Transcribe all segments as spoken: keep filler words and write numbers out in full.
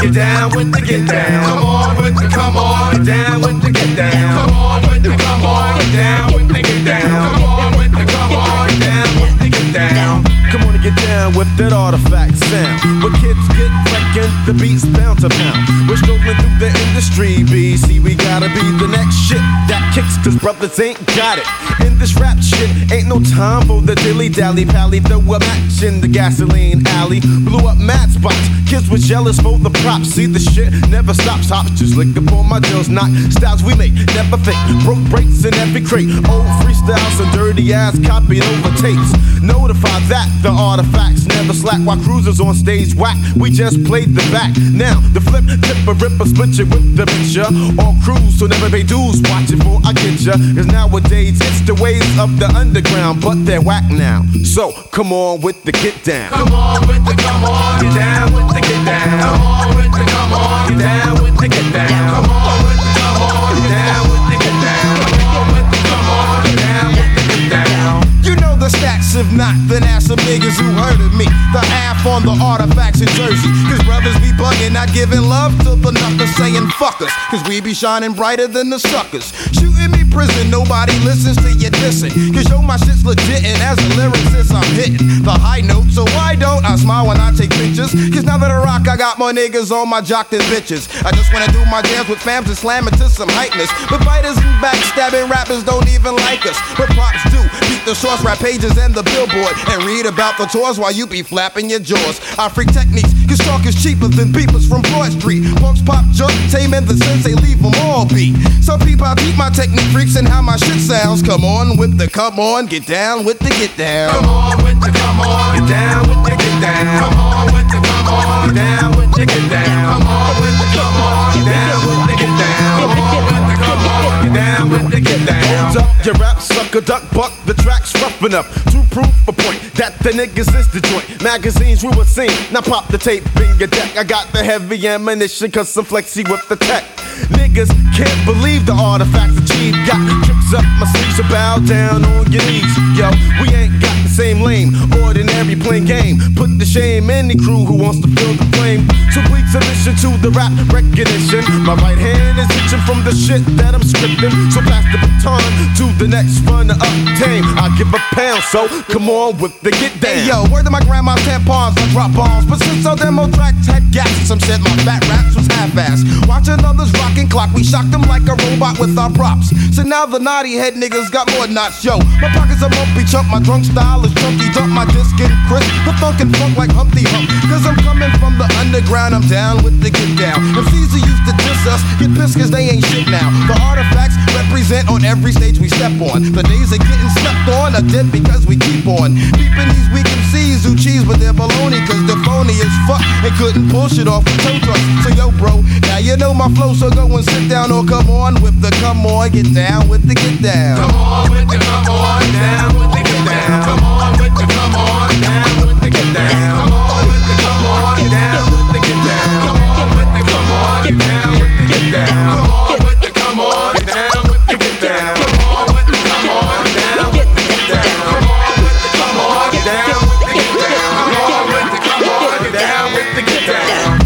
get down with the get down. Come on with the come on, get down with the get down. Come on with the come on, get down with the get down. Come on with the come on, get down with the get down. Come on and get down with that artifact sound. Where kids get wrecking, the beats bound to pound. We're strolling through the industry, B. See, we gotta be the next shit that kicks, cause brothers ain't got it. In this rap shit, ain't no time for the dilly-dally pally. Throw a match in the gasoline alley. Blew up mad spots, kids was jealous for the props. See, the shit never stops, hops just lick up on my deals. Knock styles we make, never fake. Broke breaks in every crate. Old freestyles and dirty ass copied over tapes. Notify that the artifacts never slack while cruisers on stage whack. We just played the back. Now the flip, tip a ripper, split you with the picture. On cruise, so never pay dues. Watch it for I get ya. Cause nowadays it's the ways of the underground, but they're whack now. So come on with the get down. Come on with the come on, get down with the get down. Come on with the come on, get down with the get down. Come on with the come on, get down with the get down. Come on with the come on, get down with the get down. You know the stacks, if not, then ask some niggas who heard of me. The half on the artifacts in Jersey. Cause brothers be bugging, not giving love to the knuckers, saying fuck us. Cause we be shining brighter than the suckers. Shooting me prison, nobody listens to you dissing. Cause yo, my shit's legit, and as a lyricist, I'm hitting the high note. So why don't I smile when I take pictures? Cause now that I rock, I got more niggas on my jock than bitches. I just wanna do my dance with fams and slam it to some hypeness. But biters and backstabbing rappers don't even like us. But props do, beat the source rap pages and the billboard. And read about the tours while you be flapping your jaws. I freak techniques, cause talk is cheaper than beepers from Broad Street. Punks pop, jump, tame, and the sensei leave them all beat. Some people I keep my technique freaks and how my shit sounds. Come on with the come on, get down with the get down. Come on with the come on, get down with the get down. Come on with the come on, get down with the get down. Come on with the come on, get down with the get down. Come on with the come on, get down with the get down. Hold up, your rap sucker, duck buck, the track's rough enough to prove a point that the niggas is the joint. Magazines we were seen, now pop the tape in your deck. I got the heavy ammunition cause I'm flexy with the tech. Niggas can't believe the artifacts achieved. Got tricks up my sleeves, so bow down on your knees. Yo, we ain't got the same lame, ordinary plain game. Put the shame in the crew who wants to feel the flame. So please listen to the rap recognition. My right hand is itching from the shit that I'm scripting. So pass the baton to the next runner up tame. I give a pound, so come on with the get down. Hey yo, word to my grandma's tampons, I drop bombs. But since our demo tracks had gaps, some said my fat raps was half-assed. Watching others rockin' clock, we shocked them like a robot with our props. So now the naughty head niggas got more knots. Yo, my pockets are lumpy chump, my drunk style is chunky. Dump my disc and crisp, the funk and funk like Humpty Hump. Cause I'm coming from the underground, I'm down with the get down. M Cs who used to diss us, get pissed cause they ain't shit now. The artifacts represent on every stage we step on. The days of getting slept on are dead because we keep on peeping these weak M Cs who cheese with their baloney. Cause they're phony as fuck and couldn't pull shit off with tow trucks. So yo bro, now you know my flow, so go and sit down or come on with the come on, get down with the get down. Come on with the come on, down with the get down. Come on with the come on, down with the get down. Come on with the come on, down with the get down. Come on with the come on, down with the get down. Come on with the come on, down with the get down. Come on with the come on, down with the get down. Come on with the come on, down with the get down. Come on with the come on, down with the get down.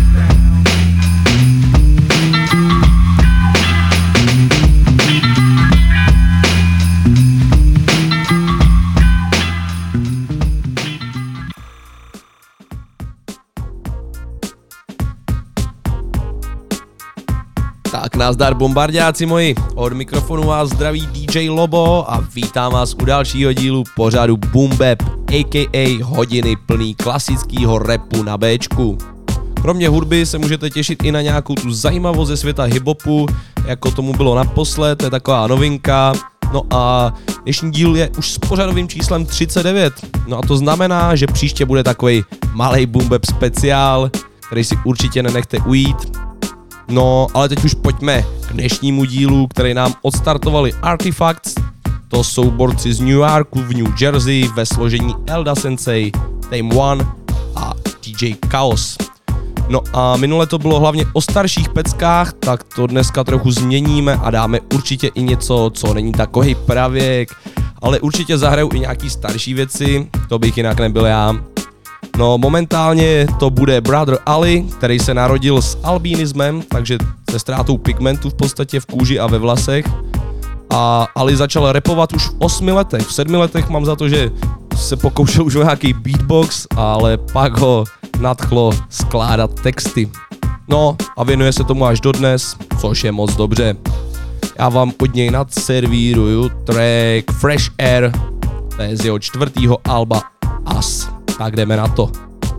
Tak nazdar bombardáci moji, od mikrofonu vás zdraví D J Lobo a vítám vás u dalšího dílu pořadu Boom Bap, a k a hodiny plný klasického rapu na Bčku. Kromě hudby se můžete těšit i na nějakou tu zajímavost ze světa hiphopu, jako tomu bylo naposled, to je taková novinka. No a dnešní díl je už s pořadovým číslem třicet devět, no a to znamená, že příště bude takovej malej Boom Bap speciál, který si určitě nenechte ujít. No, ale teď už pojďme k dnešnímu dílu, který nám odstartovali Artifacts. To jsou borci z New Yorku v New Jersey ve složení Elda Sensei, Tame One a D J Chaos. No a minule to bylo hlavně o starších peckách, tak to dneska trochu změníme a dáme určitě i něco, co není takový pravěk, ale určitě zahraju i nějaký starší věci, to bych jinak nebyl já. No momentálně to bude Brother Ali, který se narodil s albinismem, takže se ztrátou pigmentu v podstatě v kůži a ve vlasech. A Ali začal rapovat už v osmi letech, v sedmi letech mám za to, že se pokoušel už o nějaký beatbox, ale pak ho nadchlo skládat texty. No a věnuje se tomu až dodnes, což je moc dobře. Já vám od něj nadservíruju track Fresh Air, to je z jeho čtvrtýho alba As. Tak jdeme na to.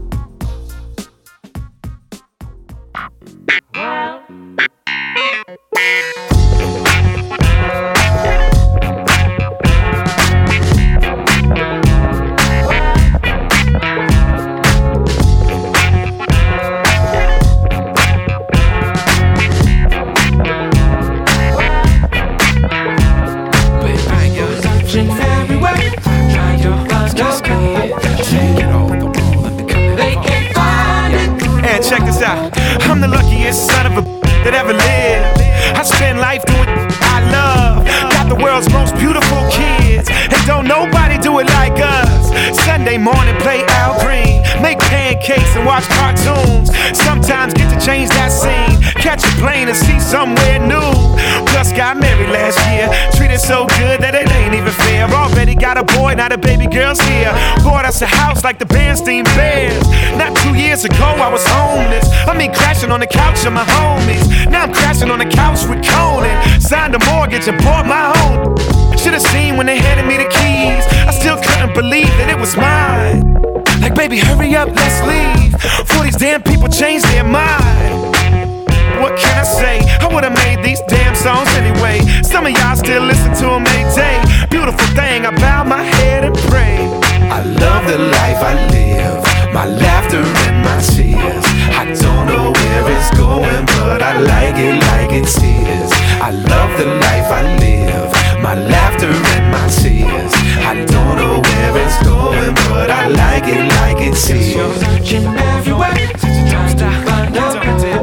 Check this out. I'm the luckiest son of a that ever lived. I spend life doing I love. Got the world's most beautiful kids, and don't nobody do it like us. Sunday morning, play Al Green, make pancakes and watch cartoons. Sometimes get to change that scene, catch a plane and see somewhere new. Plus got married last year, treated so good that it ain't even fair. Already got a boy, now the baby girl's here. Bought us a house like the Bernstein Bears. Not two years ago I was homeless, I mean crashing on the couch of my homies. Now I'm crashing on the couch with Conan. Signed a mortgage and bought my own. Should've seen when they handed me the keys, I still couldn't believe that it was mine. Like baby hurry up, let's leave, before these damn people change their mind. What can I say? I would've made these damn songs anyway. Some of y'all still listen to them every day. Beautiful thing, I bow my head and pray. I love the life I live, my laughter and my tears. I don't know where it's going, but I like it like it's his. I love the life I live, my laughter and my tears. I don't know where it's going, but I like it like it's his. You're searching everywhere, don't stop, find out.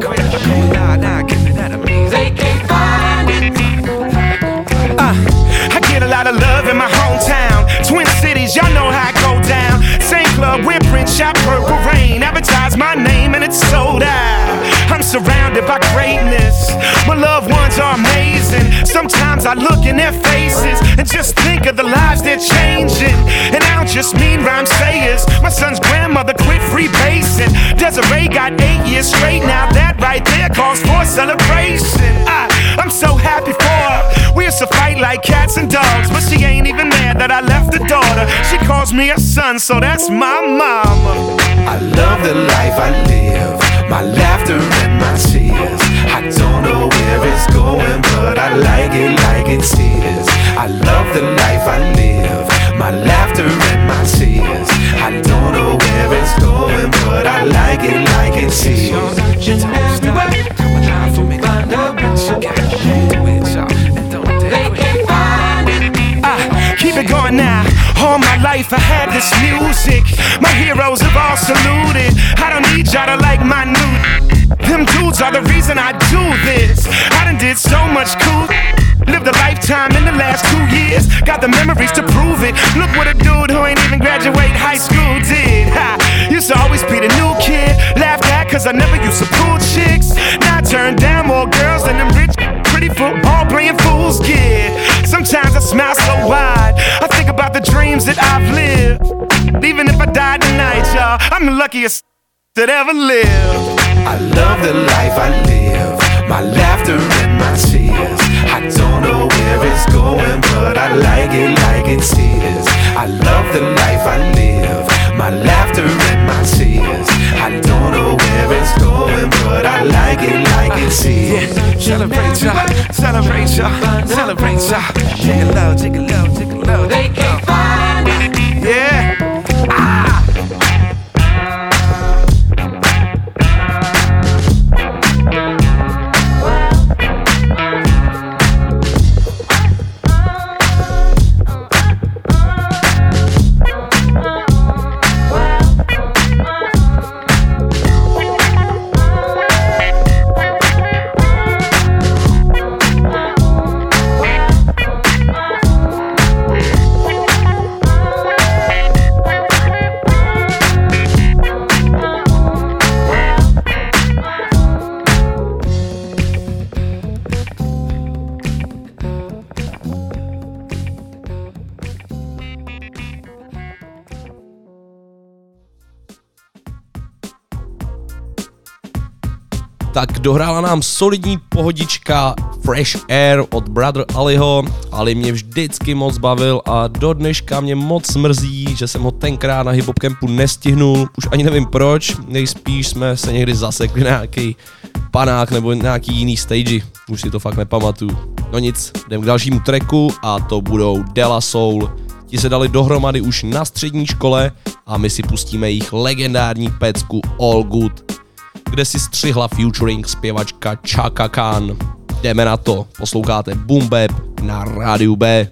They can't find it. Uh, I get a lot of love in my hometown. Twin Cities, y'all know how I go down. Same club, wear print, shop Purple Rain. Advertise my name and it's sold out. I'm surrounded by greatness. My loved ones are amazing. Sometimes I look in their faces and just think of the lives they're changing. And I don't just mean rhyme sayers. My son's grandmother quit freebasing. Desiree got eight years straight. Now that right there calls for celebration. I, I'm so happy for her. We used to fight like cats and dogs, but she ain't even mad that I left the daughter. She calls me a son, so that's my mama. I love the life I live, my laughter and my tears. I don't know where it's going, but I like it like it's his. I love the life I live, my laughter and my tears. I don't know where it's going, but I like it like it's his. You're searching everywhere, come alive for me, find out what you got. Do it, y'all, and don't they can't find it. Ah, keep it going now. All my life I had this music. My heroes have all saluted. I don't need y'all to like my new. Them dudes are the reason I do this. I done did so much cool. Lived a lifetime in the last two years. Got the memories to prove it. Look what a dude who ain't even graduate high school did. Ha! Used to always be the new kid. Laughed at cause I never used to pull chicks. Now I turn down more girls than them rich pretty football playing fools get. Sometimes I smile so wide, I think about the dreams that I've lived. Even if I die tonight, y'all, I'm the luckiest that ever lived. I love the life I live, my laughter and my tears. I don't know where it's going, but I like it like it's his. I love the life I live, my laughter and my tears. I don't know where it's going, but I like it like it's his. Yeah. Celebrate y'all, celebrate y'all, celebrate y'all. Take a low, take a low, take a low. They can't find it. Yeah. Ah. tak dohrála nám solidní pohodička Fresh Air od Brother Aliho. Ali mě vždycky moc bavil a do dneška mě moc mrzí, že jsem ho tenkrát na Hip Hop Campu nestihnul. Už ani nevím proč, nejspíš jsme se někdy zasekli na nějaký panák nebo nějaký jiný stage. Už si to fakt nepamatuju. No nic, jdem k dalšímu tracku a to budou De La Soul. Ti se dali dohromady už na střední škole a my si pustíme jejich legendární pecku All Good, kde si střihla featuring zpěvačka Chaka Khan. Jdeme na to, posloucháte Boom Bap na Rádiu B.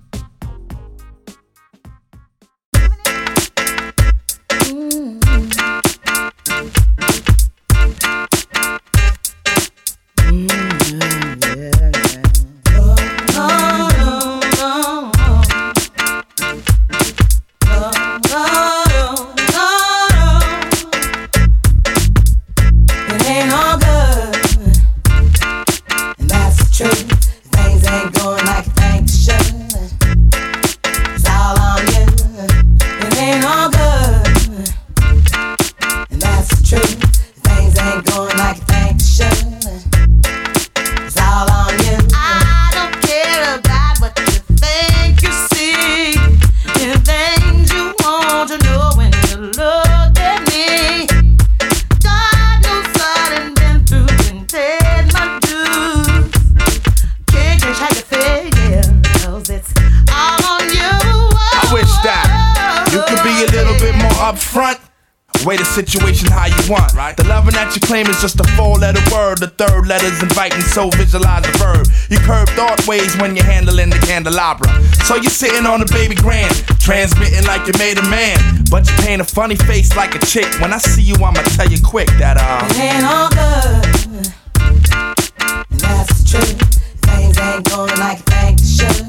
Situation how you want, right? The loving that you claim is just a four-letter word. The third letter's inviting, so visualize the verb. You curve thought ways when you're handling the candelabra. So you're sitting on a baby grand, transmitting like you made a man, but you paint a funny face like a chick. When I see you, I'ma tell you quick that uh it ain't all good, and that's the truth. Things ain't going like you think they should.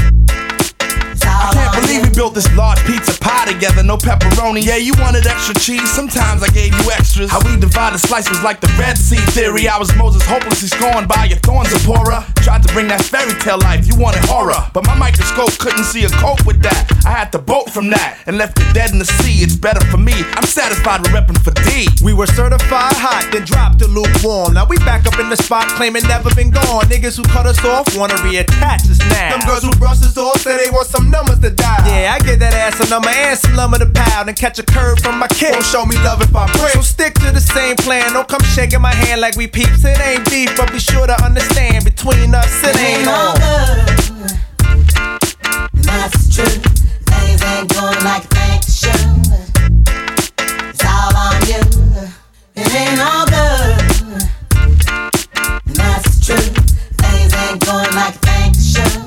I can't believe we built this large pizza pie together, no pepperoni. Yeah, you wanted extra cheese, sometimes I gave you extras. How we divided slice was like the Red Sea theory. I was Moses hopelessly scorned by your thorns, Zipporah. Tried to bring that fairy tale life, you wanted horror, but my microscope couldn't see a cope with that. I had to bolt from that and left it dead in the sea. It's better for me, I'm satisfied with repping for D. We were certified hot, then dropped to lukewarm. Now we back up in the spot, claiming never been gone. Niggas who cut us off wanna reattach us now. Them girls who brush us off say they want some numbers to dial. Yeah, I give that ass a number and some lumber to pound and catch a curve from my kid. Won't show me love if I break. So stick to the same plan. Don't come shaking my hand like we peeps. It ain't beef, but be sure to understand between us it, it ain't, ain't all good. That's the truth. Things ain't going like you think they should. It's all on you. It ain't all good. That's the truth. Things ain't going like you think they should.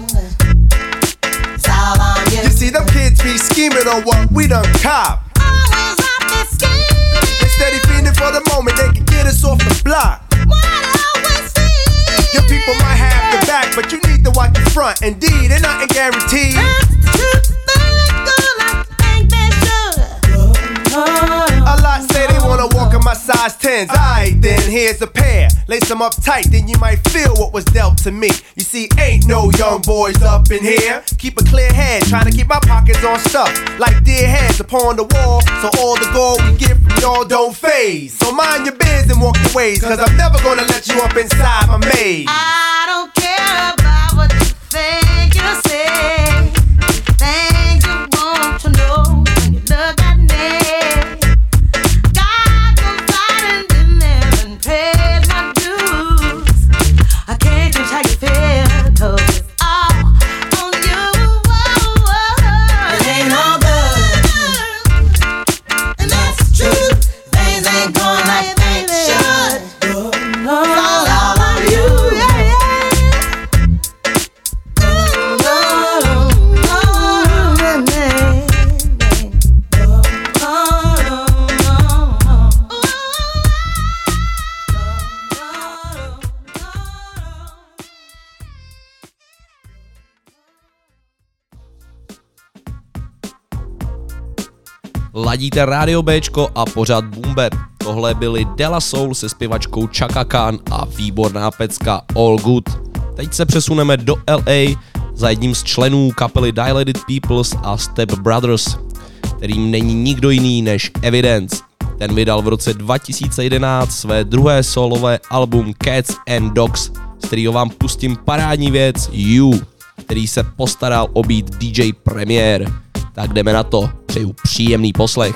You see them kids be scheming on what we done cop. Always out there scheming. They steady feeding for the moment they can get us off the block. What always see? Your people might have the back, but you need to watch the front. Indeed, ain't nothing guaranteed. That's the truth. Things go like you think they should. A lot say they wanna walk in my size tens. Alright then, here's a pair. Lace them up tight, then you might feel what was dealt to me. You see, ain't no young boys up in here. Keep a clear head, trying to keep my pockets on stuff like dear heads upon the wall. So all the gold we get from y'all don't phase. So mind your biz and walk your ways, cause I'm never gonna let you up inside my maze. I don't care about what you think you say. Things you want to know when you look at me. Ladíte Rádio Bčko a pořád Boom Bap. Tohle byly De La Soul se zpěvačkou Chaka Khan a výborná pecka All Good. Teď se přesuneme do L A za jedním z členů kapely Dilated Peoples a Step Brothers, kterým není nikdo jiný než Evidence. Ten vydal v roce dva tisíce jedenáct své druhé solové album Cats and Dogs, z kterého vám pustím parádní věc You, který se postaral o beat D J Premier. Tak jdeme na to, přeju příjemný poslech.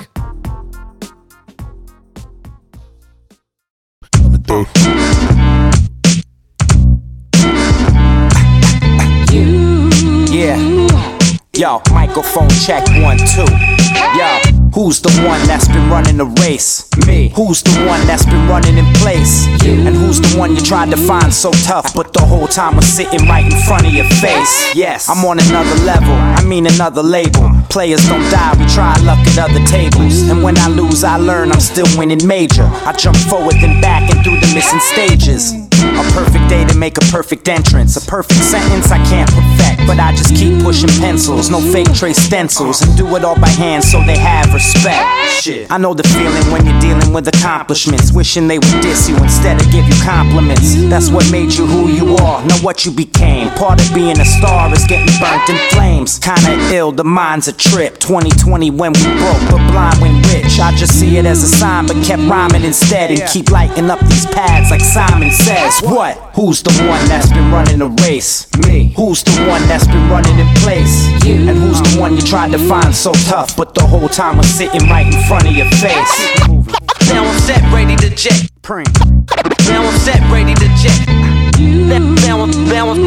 Yeah, yo, microphone check one, two. Yo, who's the one that's been running the race? Me. Who's the one that's been running in place? You. And who's the one you tried to find so tough, but the whole time was sitting right in front of your face? Yes, I'm on another level, I mean another label. Players don't die, we try luck at other tables. And when I lose, I learn I'm still winning major. I jump forward then back and through the missing stages. A perfect day to make a perfect entrance. A perfect sentence I can't perfect, but I just keep pushing pencils. No fake trace stencils, and do it all by hand so they have respect. Shit, I know the feeling when you're dealing with accomplishments, wishing they would diss you instead of give you compliments. That's what made you who you are, not what you became. Part of being a star is getting burnt in flames. Kinda ill, the mind's a trip. twenty twenty when we broke, but blind when rich. I just see it as a sign, but kept rhyming instead, and keep lighting up these pads like Simon says. What? Who's the one that's been running the race? Me. Who's the one that's been running in place? You. And who's the one you tried to find so tough, but the whole time was sitting right in front of your face? Now I'm set, ready to jet. Now I'm set, ready to jet. Now I'm, now I'm,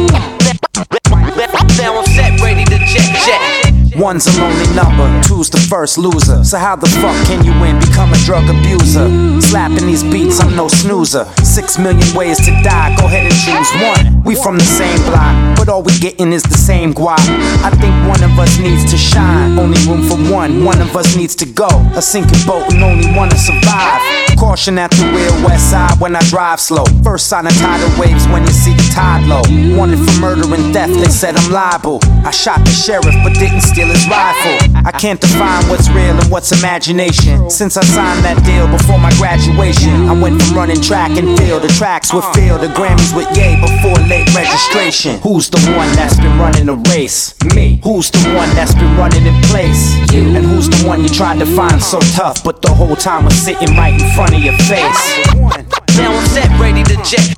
now I'm set, ready to jet, jet. One's a lonely number, two's the first loser. So how the fuck can you win, become a drug abuser? Slapping these beats, I'm no snoozer. Six million ways to die, go ahead and choose one. We from the same block, but all we getting is the same guap. I think one of us needs to shine, only room for one, one of us needs to go. A sinking boat and only one to survive. Caution at the real west side when I drive slow. First sign of tidal waves when you see the tide low. Wanted for murder and theft, they said I'm liable. I shot the sheriff but didn't steal his rifle. I can't define what's real and what's imagination. Since I signed that deal before my graduation, I went from running track and field to tracks with field to Grammys with Ye before late registration. Who's the one that's been running the race? Me. Who's the one that's been running in place? You. And who's the one you tried to find so tough, but the whole time was sitting right in front of your face? Now I'm set, ready to jet.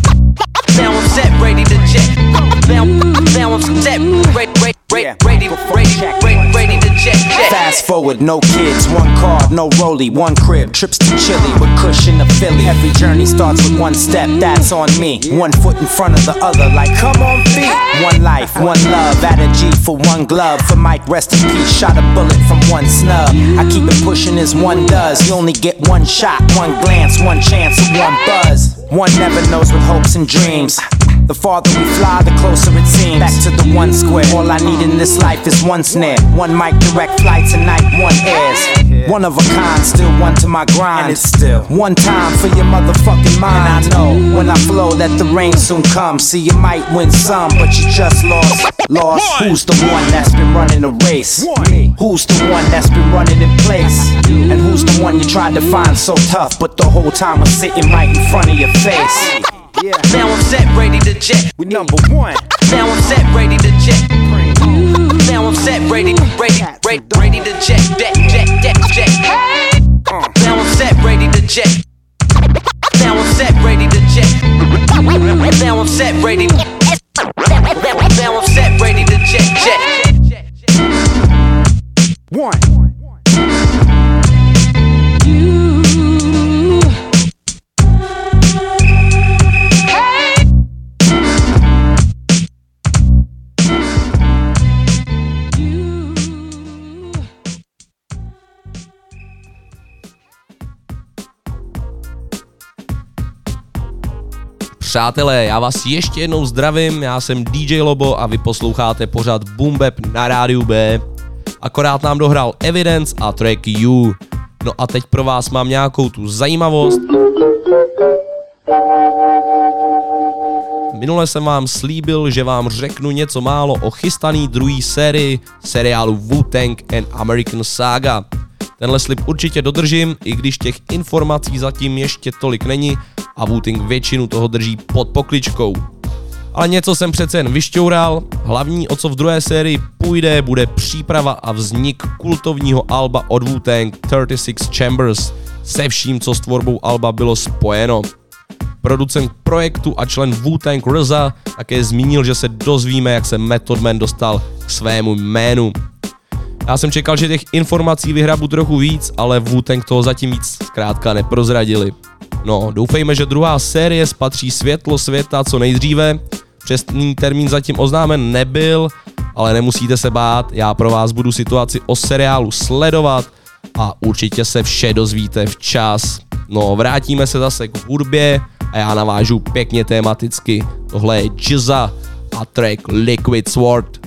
Now I'm set, ready to jet. Now, now I'm set, ready, ready, ready, ready, ready, ready to jet, jet. Fast forward, no kids, one car, no rollie, one crib, trips to Chile with cushion to Philly. Every journey starts with one step, that's on me. One foot in front of the other, like come on feet. One life, one love, add a G for one glove. For Mike, rest in peace, shot a bullet from one snub. I keep it pushing as one does. You only get one shot, one glance, one chance, and one buzz. One never knows with hopes and dreams. The farther we fly, the closer it seems. Back to the one square. All I need in this life is one snare. One mic, direct flight tonight, one airs. One of a kind, still one to my grind. And it's still one time for your motherfucking mind. And I know when I flow that the rain soon comes. See, you might win some, but you just lost. Lost. Who's the one that's been running the race? Me. Who's the one that's been running in place? And who's the one you tried to find so tough, but the whole time was sitting right in front of your face? Yeah. Now I'm set, ready to jet. We number one. Now I'm set, ready to jet. Now I'm set, ready, ready, ready, ready to jet, jet, jet, jet, jet. Now I'm set, ready to jet. Now I'm set, ready to jet. Now I'm set, ready. Now I'm set, ready to jet, jet. One. Přátelé, já vás ještě jednou zdravím, já jsem D J Lobo a vy posloucháte pořad Boom Bap na rádiu B. Akorát nám dohrál Evidence a track You. No a teď pro vás mám nějakou tu zajímavost. Minule jsem vám slíbil, že vám řeknu něco málo o chystaný druhý sérii seriálu Wu-Tang and American Saga. Tenhle slib určitě dodržím, i když těch informací zatím ještě tolik není a Wu-Tang většinu toho drží pod pokličkou. Ale něco jsem přece jen vyšťoural, hlavní o co v druhé sérii půjde bude příprava a vznik kultovního alba od Wu-Tang třicet šest Chambers, se vším, co s tvorbou alba bylo spojeno. Producent projektu a člen Wu-Tang R Z A také zmínil, že se dozvíme, jak se Method Man dostal k svému jménu. Já jsem čekal, že těch informací vyhrabu trochu víc, ale Wu-Tang toho zatím víc zkrátka neprozradili. No, doufejme, že druhá série spatří světlo světa co nejdříve. Přesný termín zatím oznámen nebyl, ale nemusíte se bát, já pro vás budu situaci o seriálu sledovat a určitě se vše dozvíte včas. No, vrátíme se zase k hudbě a já navážu pěkně tematicky. Tohle je Jizza a track Liquid Sword.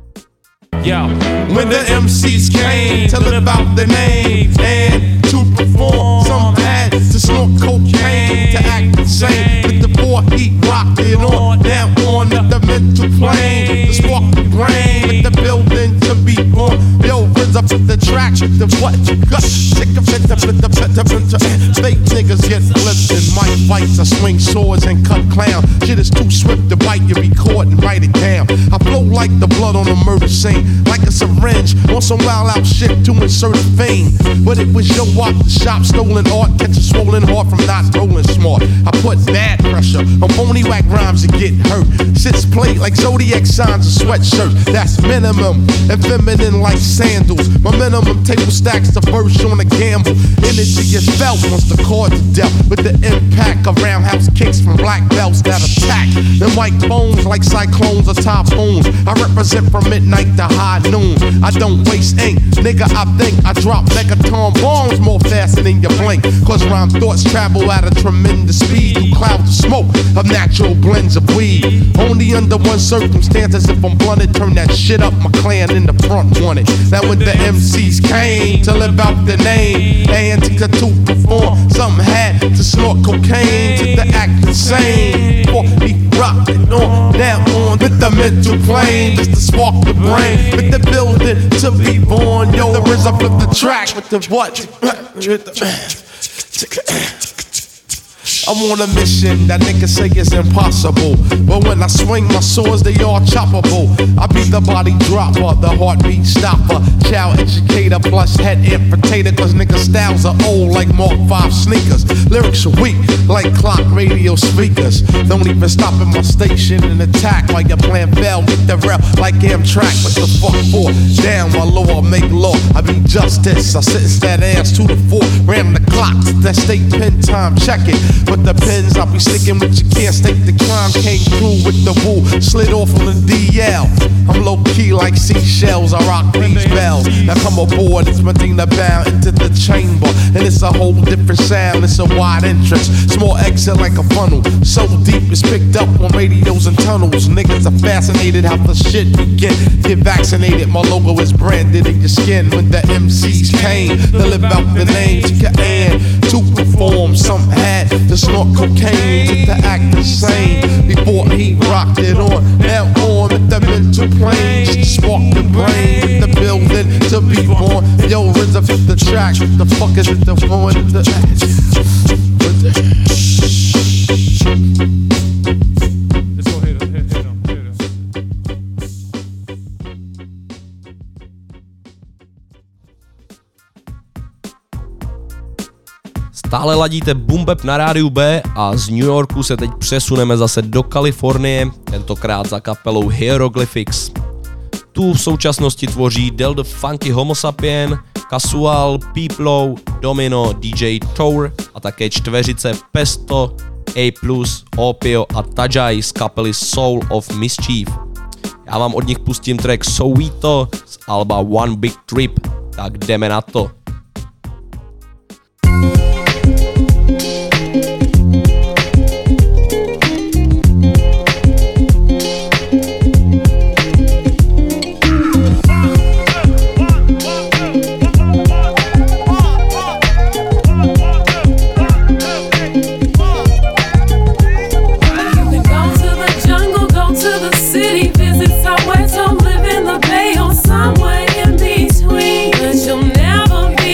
Yo, when the M Cs came to live out their name and to perform, some had to snort cocaine to act insane. With the four heat rocked it on down on the mental plane, the spark the brain, with the building to be born. Yo, brings up the track, the what you got? Sick of it, the the the the fake niggas get flipped in mic fights. I swing swords and cut clown. Shit is too swift to bite. You record and write it down. I flow like the blood on a murder scene. Like a syringe on some wild out shit to insert fame. But it was your walk the shop, stolen art, catch a swollen heart from not rolling smart. I put bad pressure on phony whack rhymes and get hurt. Sits played like zodiac signs and sweatshirts. That's minimum and feminine like sandals. My minimum table stacks the verse on a gamble. Energy is felt once the cards are dealt. With the impact of roundhouse kicks from black belts that attack. The white bones like cyclones or typhoons. I represent from midnight to high noon. I don't waste ink, nigga. I think I drop megaton bombs more faster than you blink. Cause rhyme thoughts travel at a tremendous speed through clouds of smoke of natural blends of weed. Only under one circumstance, as if I'm blunted, turn that shit up. My clan in the front wanted. Now when the M Cs came to live out the name and to perform, some had to snort cocaine to the act insane. For he rocked it on down on with the mental plane, just to spark the brain. With the building to be born, yo, the R Z A flip the track with the what? I'm on a mission that niggas say is impossible. But when I swing my swords, they all choppable. I be the body dropper, the heartbeat stopper, child educator plus head infiltrator. Cause niggas styles are old like Mark five sneakers. Lyrics are weak like clock radio speakers. Don't even stop at my station and attack while your plan fail. Get the rail like Amtrak. What the fuck for? Damn, my law make law. I be justice. I sentence that ass to the floor. Ran the clock, that state pen time, check it. But the pens I'll be sticking with, you can't state the crime. Came through with the woo, slid off on the D L. I'm low key like seashells, I rock these bells. Now come aboard, it's Medina bound into the chamber. And it's a whole different sound, it's a wide entrance. Small exit like a funnel, so deep it's picked up on radios and tunnels. Niggas are fascinated how the shit begin. Get vaccinated, my logo is branded in your skin. When the M Cs came to live out the name, and to perform, some had to snort cocaine to act the same. Before he rocked it on, now on with the mental plane, just to spark the brain with the building to be born. Yo, R Z A fit the track, what the fuck is it the one? The Let's go hit him, hit, hit him, hit him. Stále ladíte Boom Bap na rádiu B a z New Yorku se teď přesuneme zase do Kalifornie, tentokrát za kapelou Hieroglyphics. Tu v současnosti tvoří Del the Funky Homo Sapien, Casual, Peeplow, Domino, D J Tour a také čtveřice Pesto, A plus, Opio a Tajai z kapely Soul of Mischief. Já vám od nich pustím track Sowito z alba One Big Trip, tak jdeme na to. Somewhere in between, but you'll never be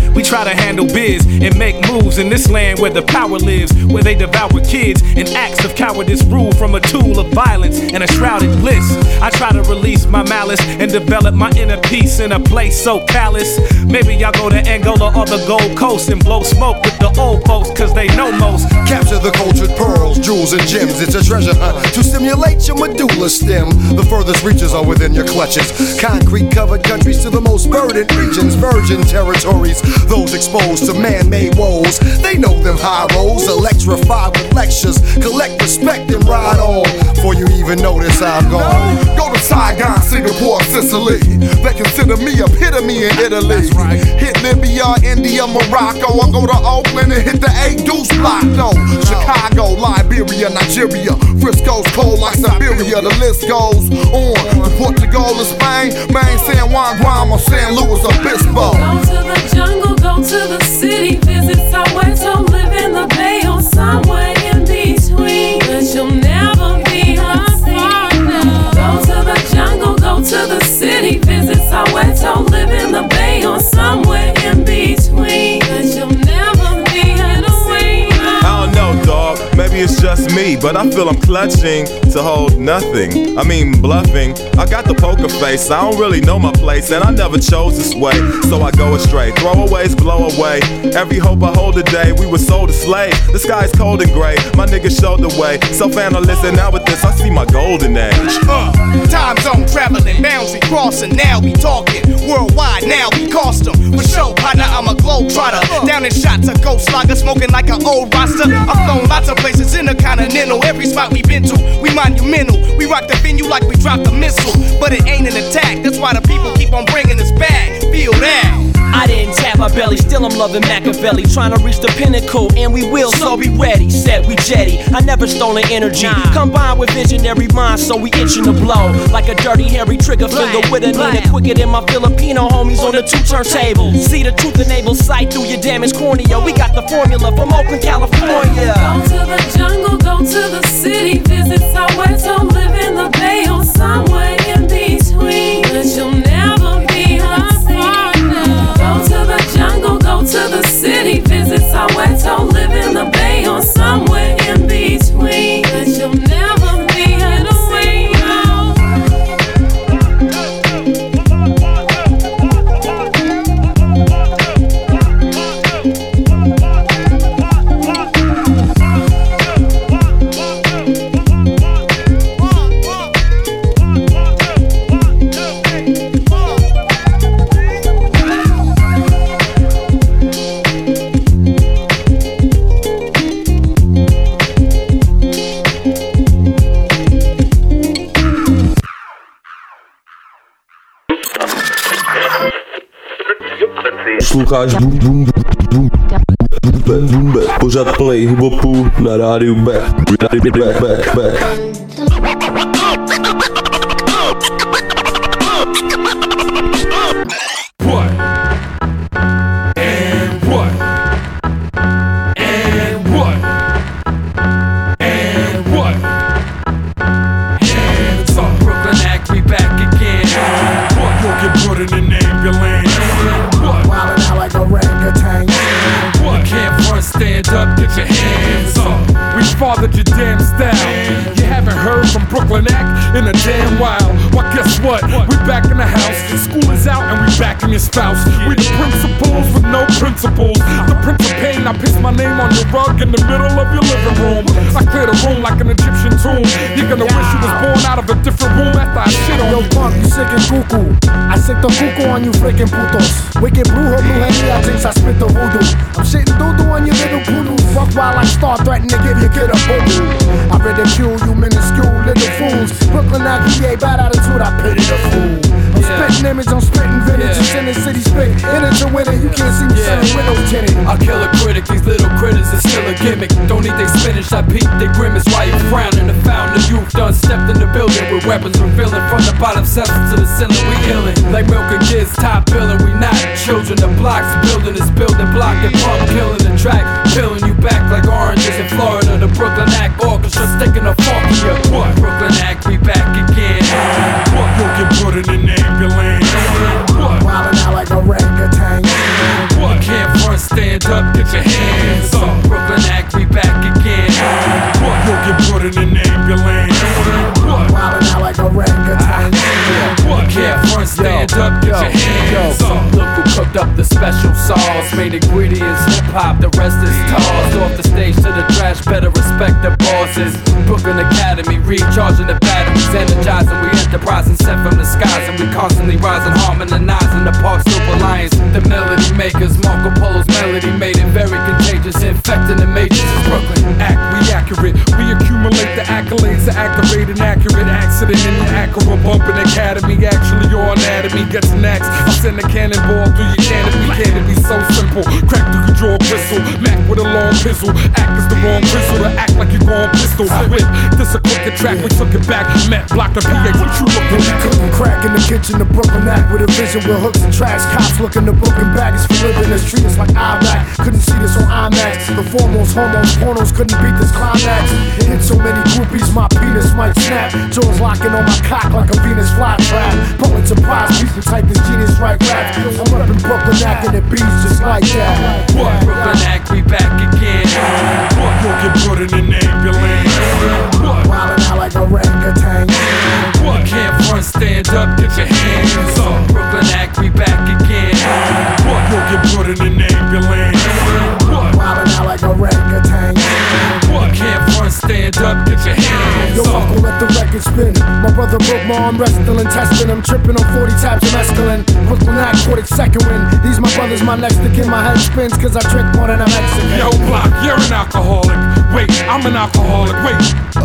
We try to handle biz and make moves in this land where the power lives, where they devour kids and acts of cowardice rule from a tool of violence and a shrouded bliss. I try to release my malice and develop my inner peace in a place so callous. Maybe I'll go to Angola or the Gold Coast and blow smoke with the old folks, cause they know most. Capture the cultured pearls, jewels and gems. It's a treasure hunt to stimulate your medulla stem. The furthest reaches are within your clutches. Concrete covered countries to the most verdant regions, virgin territories. Those exposed to man-made woes, they know them high roads. Electrified with lectures, collect respect and ride on. Before you even notice I'm gone. Go to Saigon, Singapore, Sicily. They consider me epitome in Italy. Right. Hit Libya, India, Morocco. I go to Oakland and hit the eight deuce block. No, no. Chicago, Liberia, Nigeria. Frisco's cold like Siberia. The list goes on. To Portugal and Spain, Maine, San Juan, Guam, or San Luis Obispo. Go to the jungle, go to the city, visit Soweto, live in the Bay or somewhere in between. But you'll never be unseen. Go to the jungle, go to the city, visit Soweto, live in the Bay or somewhere in between. But you'll never be unseen. I don't know, dog. Maybe it's just me, but I feel I'm clutching to hold nothing. I mean, bluffing. I got the poker face, I don't really know my place, and I never chose this way, so I go astray. Throwaways blow away. Every hope I hold today, we were sold a slave. The sky's cold and gray, my niggas showed the way. Self-analyst, and now with this, I see my golden age. Uh, time zone traveling, boundary crossing. Now we talking worldwide, now we custom. For sure, partner, I'm a globetrotter. Down in shots, a ghost slugger, smoking like an old roster. I've flown lots of places intercontinental. Every spot we been to, we monumental. We rock the venue like we dropped a missile. But it ain't an attack, that's why the people keep on bringing us back. Feel that. I didn't tap my belly, still I'm loving Machiavelli. Trying to reach the pinnacle, and we will, so be ready. Set, we jetty, I never stolen energy. Combined with visionary minds, so we itching to blow. Like a dirty, hairy trigger finger with a Nina. Quicker than my Filipino homies on the two turntable. See the truth enabled sight through your damaged cornea. We got the formula from Oakland, California. Go to the jungle, go to the city, visit Soweto, live in the Bay or somewhere in between. But you'll never be unseen. Go to the jungle, go to the city, visit Soweto, live in the Bay or somewhere in between. But you'll never be unseen. Posloucháš Boom Boom Boom Boom Boom Bap, pořád play hip-hopu na rádiu B. B, B, B. Fathered your damn style. You haven't heard from Brooklyn Act in a damn while. Well, guess what? We back in the house. School is out and we back in your spouse. We the principals with no principles. The Prince of Pain. I piss my name on your rug in the middle of your living room. I clear the room like an Egyptian tomb. You're gonna wish you was born out of a different room after I shit on you. Yo, punk, you sick and cuckoo. I sick the cuckoo on you freaking putos. Wicked brujo, blue henny, I think I spit the voodoo. I'm shitting doo-doo on your little poodoo. Fuck while I start threatening to give your kid a boo-boo. I ridicule you minuscule little fools. Brooklyn I P A, bad attitude, I pity the fool. I'm yeah. spitting image, I'm spitting vintage. Yeah. You in the city spit, in it to win it. You can't see me yeah. sitting windows tinted. I kill a critic, these little critters is still a gimmick. Don't eat they spinach, I peep they grimace. Why you frowning? The fountain of youth done stepped in the building with weapons revealing from the bottom steps to the ceiling. We illin' like milking kids, top billing. We not children. The blocks building is building block and pump killing the track, peeling you back like oranges in Florida. The Brooklyn Act Orchestra sticking a fork in your what? Brooklyn Act, we back again. What? You'll get put in an ambulance. What? Wildin' out like a orangutan. What? You can't stand up, get your hands up. Brooklyn act, we back again. What? You'll get put in an ambulance. What? Wildin' out like orangutan. What? Can't front, stand up, get your hands up. Look who cooked up the special sauce. Main ingredients, hip hop, the rest is tossed. Off the stage to the trash, better respect the bosses. Brooklyn Academy, recharging the batteries, energizing, we enterprising, sent from the skies, and we constantly rising, harmonizing the Park Slope Alliance. The melody makers, Marco Polo's melody made it very contagious, infecting the matrix. Brooklyn act, we accurate, we accumulate the accolades, the activate an accurate accident in the Acura bumping academy. Actually, your anatomy gets an axe. I send a cannonball through your canopy. Can it be so simple? Crack through your jaw bristle, Mac with a long pistol. Act is the wrong pistol to act like you're going pistol. With this a crooked track, we took it back. Met, blocked the P H. What you looking at? Cooking crack in the kitchen, the Brooklyn act with a vision with hooks and tracks. Cops looking the broken baggage for living us, treat us like Iraq. Couldn't see this on IMAX. The foremost hormones, pornos couldn't beat this climax. It hit so many groupies, my penis might snap. Jaws locking on my cock like a Venus flytrap. Pulitzer Prize, people type this genius right rap. I'm up in Brooklyn act and it beats just like that. What? Brooklyn act, we back again. What? You'll get put in an ambulance. What? Wildin' out like orangutan. What? Can't front, stand up, get your hands up. Brooklyn act, we back again. What? You'll get put in an ambulance. What? Wildin' out like orangutan. What? Can't front, stand up, get your hands Yo, up. Uncle, let the record spin. My brother broke my arm wrestling, testing. I'm tripping on forty tabs of mescaline. Brooklyn act, caught it second win. These my brothers, my next to kin. My head spins cause I drink more than I'm Mexican. Yo, Block, you're an alcoholic. Wait, I'm an alcoholic. Wait,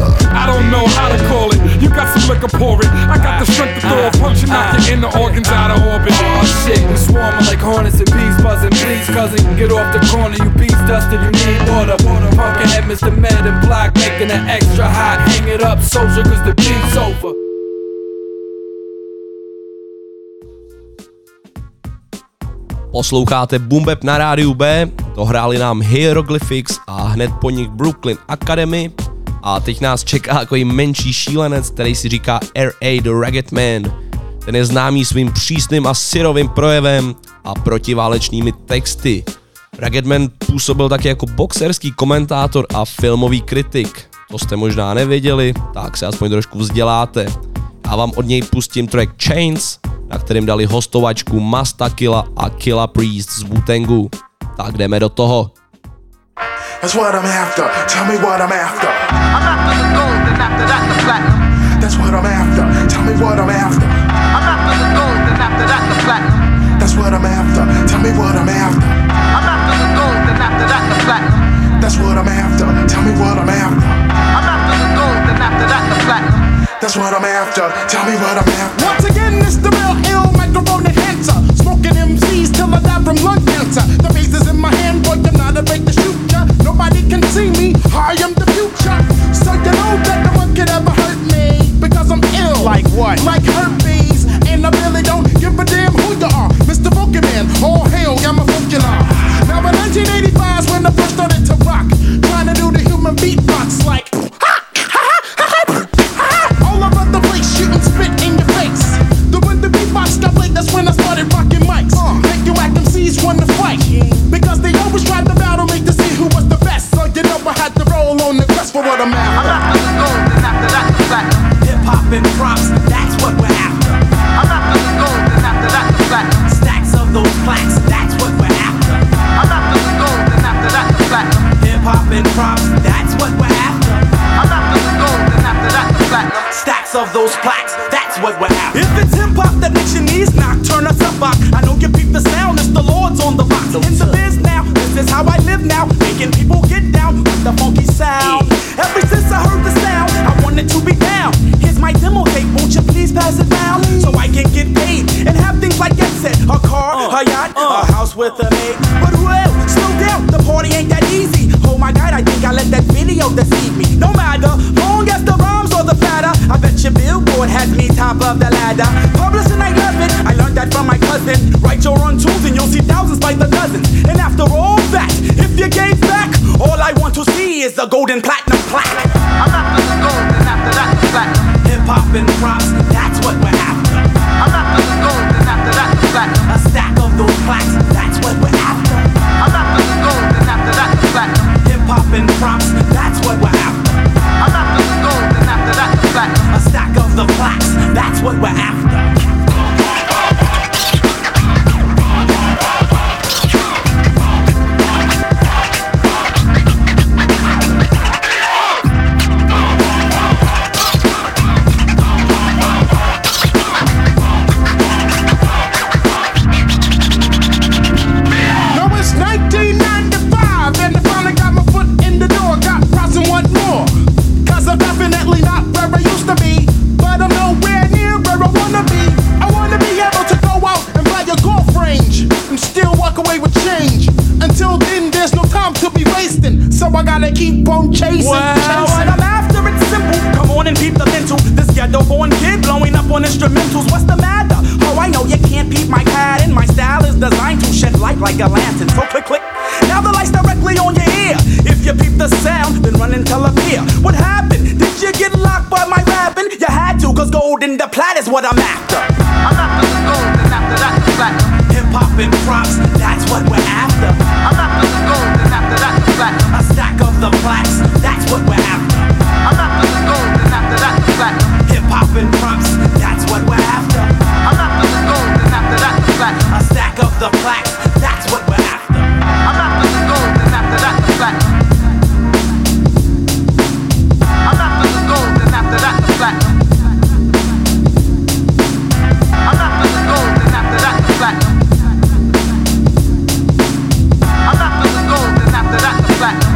I don't know how to call it. You got some liquor, pour it. I got the strength to throw a punch and knock your inner organs out of orbit. Oh shit, we swarming like hornets and bees buzzing. Please, cousin, get off the corner. You bees dusted, you need water. Punkin' head, Mister Med and Block, making it extra hot. Hang it up, soldier, cause the beat's over. Posloucháte Boom Bap na rádiu B, dohráli nám Hieroglyphics a hned po nich Brooklyn Academy a teď nás čeká takový menší šílenec, který si říká R A The Ragged Man. Ten je známý svým přísným a syrovým projevem a protiválečnými texty. Ragged Man působil taky jako boxerský komentátor a filmový kritik. To jste možná nevěděli, tak se aspoň trošku vzděláte. Já vám od něj pustím track Chains, na kterým dali hostovačku Masta Killa a Killa Priest z Wu-Tangu. Tak jdeme do toho. That's what I'm after. Tell me what I'm after. I'm after the gold and after that the platinum. That's what I'm after. Tell me what I'm after. I'm after the gold and after that the platinum. That's what I'm after. Tell me what I'm after. I'm after the gold and after that the platinum. That's what I'm after. Tell me what I'm after. I'm after the gold and after that the platinum. That's what I'm after. Tell me what I'm after. Once again, it's the real ill microphone enhancer. Smoking M Cs till I die from lung cancer. The bass is in my hand, boy, I'm not afraid to shoot ya. Nobody can see me, I am the future. So you know that no one could ever hurt me, because I'm ill. Like what? Like herpes. And I really don't give a damn who you are. Mister Pokemon, all hail, I'm a Pokemon. Now in nineteen eighty-five is when I first started to rock, trying to do the human beatbox like ha! Shooting spit in your face. The when the beatbox got played, that's when I started rocking mics. Uh, Make you act M Cs want to fight, because they always tried to battle me to see who was the best. So you know I had to roll on the quest for what I'm after. I'm after the gold and after that the platinum. Hip hop and props, that's what we're after. I'm after the gold and after that the platinum. Stacks of those plaques, that's what we're after. I'm after the gold and after that the platinum. Hip hop and props, that's what we're after. I'm after the gold and after that the platinum. Stacks of those plaques, that's what we're after. If it's hip hop that makes your knees knock, turn us up, box. I know you peep the sound, it's the Lord's on the box. In the biz now, this is how I live now, making people get down with the funky sound. Ever since I heard the sound, I wanted to be down. Here's my demo tape, won't you please pass it down, so I can get paid and have things like that set, a car, uh, a yacht, uh, a house with a maid. But well, slow down, the party ain't that easy. Oh my God, I think I let that video deceive me. No matter, long as the rhymes or the platter, I bet your Billboard has me top of the ladder. Publishing, I love it, I learned that from my cousin. Write your own tunes and you'll see thousands by the dozens. And after all that, if you gave back, all I want to see is a golden platinum plaque. I'm after the gold and after that the platinum. Hip hop and props, that's what we're after. I'm after the gold and after that the platinum. A stack of those plaques, that's what we're after. I'm after the so I gotta keep on chasing. Well, chasing. what I'm after, it's simple. Come on and peep the mental. This ghetto-born kid blowing up on instrumentals. What's the matter? Oh, I know you can't peep my pattern. My style is designed to shed light like a lantern. So click, click. Now the light's directly on your ear. If you peep the sound, then run and tell a peer. What happened? Did you get locked by my rapping? You had to, cause gold in the plat is what I'm after. I'm after the gold, and after that the platinum. Hip-hop and props, that's what we're after. I'm after the gold, and after that the platinum. A stack of the plaques, that's what we're after. I'm after the gold, and after that the platinum. Hip-hop and props, that's what we're after. I'm after the gold, and after that the platinum. A stack of the plaques, that's what we're after. I'm after the gold, and after that the platinum. I'm after the gold, and after that the platinum. I'm after the gold, and after that the platinum. I'm after the gold, and after that the platinum.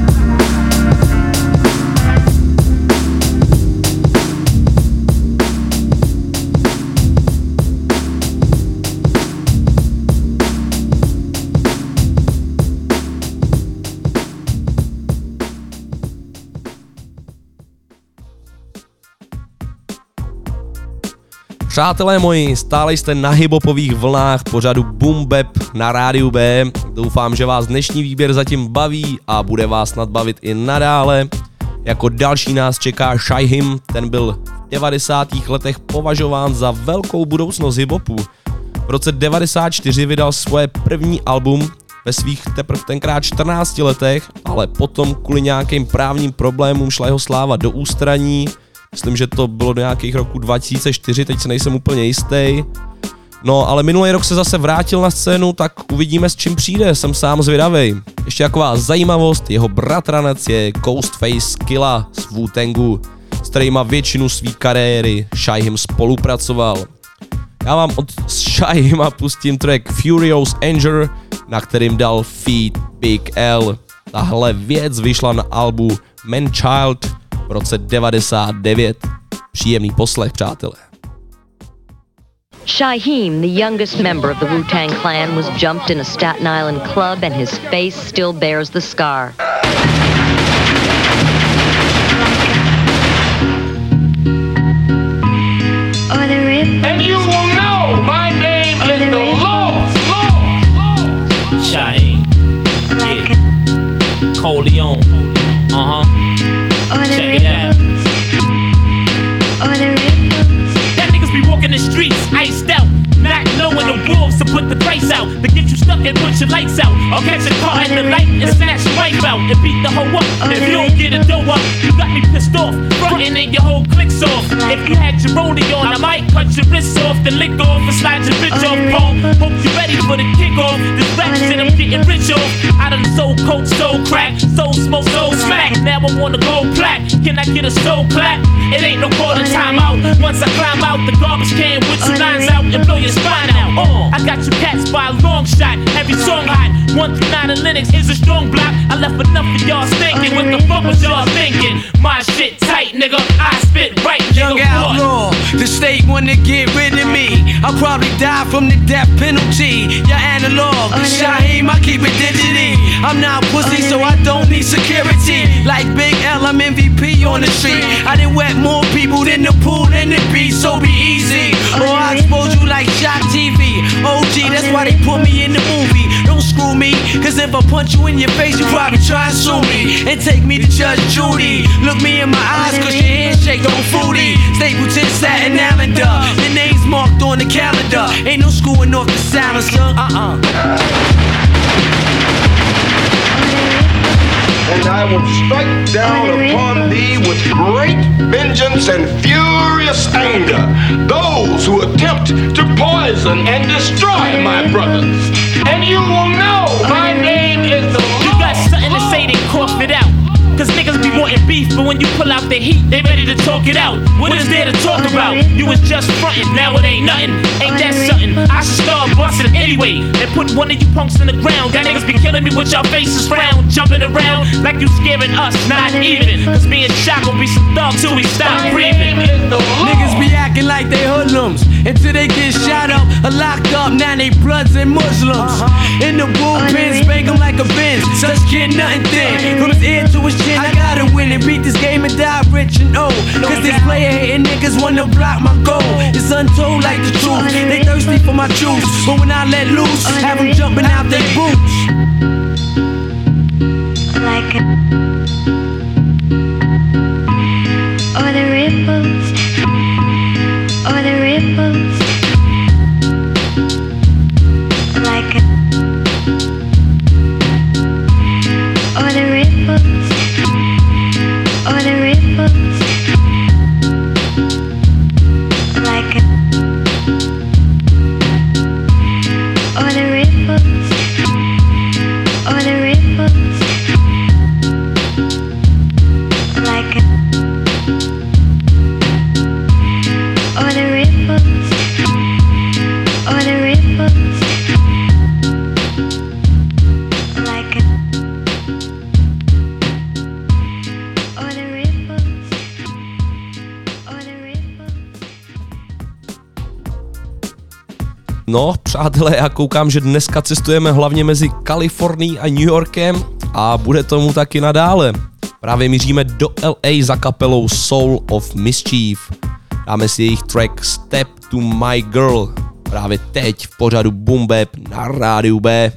Přátelé moji, stále jste na hiphopových vlnách pořadu Boom Bap na rádiu B. Doufám, že vás dnešní výběr zatím baví a bude vás nadbavit i nadále. Jako další nás čeká Shy Him, ten byl v devadesátých letech považován za velkou budoucnost hiphopu. V roce devadesát čtyři vydal svoje první album ve svých teprve tenkrát čtrnácti letech, ale potom kvůli nějakým právním problémům šla jeho sláva do ústraní. Myslím, že to bylo do nějakých roku dva tisíce čtyři, teď se nejsem úplně jistý. No, ale minulý rok se zase vrátil na scénu, tak uvidíme, s čím přijde, jsem sám zvědavej. Ještě taková zajímavost, jeho bratranec je Ghostface Killah z Wu-Tangu, s kterýma většinu svý kariéry Shy Him spolupracoval. Já vám od Shy Hima pustím track Furious Anger, na kterým dal feat Big L. Tahle věc vyšla na albu Man Child v roce devadesát devět. Příjemný poslech, přátelé. Shaheem, the youngest member of the Wu-Tang Clan, was jumped in a Staten Island club and his face still bears the scar. And you will know my name is the Law. Shaheem, yeah, Coleon, uh-huh, check it out. That niggas be walking the streets, iced out, not knowing the wolves to put the price out, to get you stuck and put your lights out, or catch a car in the light and snatch your wife out, and beat the hoe up. If you don't get a dough up, you got me pissed off, frontin' and your whole click's off. If you had your rollie on, I might cut your wrists off, then lick off and slide your bitch off, pole. Hope you ready for the kickoff, this rap shit I'm getting rich off. I done sold coke, sold crack, sold smoke, sold smack, now I want a gold plaque. Can I get a soul clap? It ain't no quarter time out. Once I climb out the garbage can with two lines out and blow your spine out. Uh, I got you cats by a long shot. Every song hot. One through nine of Linux is a strong block. I left enough of y'all stinking. What the fuck was y'all thinking? My shit tight, nigga. I spit right, nigga. Young outlaw, the state wanna get rid of me. I'll probably die from the death penalty. Your analog, Shaheem, I keep it digity. I'm not pussy, so I don't need security. Like Big L, I'm M V P on the street. I done wet more people than the pool and the beach, so be easy. Or I expose you like Shock T V. O G, that's why they put me in the movie. Don't screw me, cause if I punch you in your face, you probably try and sue me. And take me to Judge Judy. Look me in my eyes, cause your handshake don't fruity. Stapleton, Staten Islander. Your name's marked on the calendar. Ain't no screwing off the silencer. Uh-uh. And I will strike down upon thee with great vengeance and furious anger those who attempt to poison and destroy my brothers. And you will know my name is the Lord. You got something to say, then cough it out. Cause niggas be wanting beef, but when you pull out the heat, they ready to talk talk it out. What is there to talk about? You was just frontin', now it ain't nothing. Ain't that something? I should start bustin' anyway and put one of you punks in the ground. That niggas be killing me with y'all faces frown, jumping around like you scaring us, not even. Cause me and Shock gon' be some thugs till we stop breathing. Niggas be acting like they hoodlums until they get shot up or locked up. Now they bloods and Muslims. In the bullpen, spank them like a Benz. Such kid, nothing thin. From his ear to his chin, I gotta win and beat this game and die rich and old. Cause this player hating niggas wanna block my goal. It's untold like the truth. They thirsty for my juice, but when I let loose, have them jumping out their boots. Like a, or the ripples, or the ripples. Like a, or the ripples, or the ripples. Like a, or the ripples, or the ripples. Like a, or the ripples, or the ripples. Like a, or the ripples, or the ripples. No, přátelé, já koukám, že dneska cestujeme hlavně mezi Kalifornií a New Yorkem a bude tomu taky nadále. Právě míříme do L A za kapelou Soul of Mischief. Dáme si jejich track Step to My Girl právě teď v pořadu Boom Bap na rádiu B.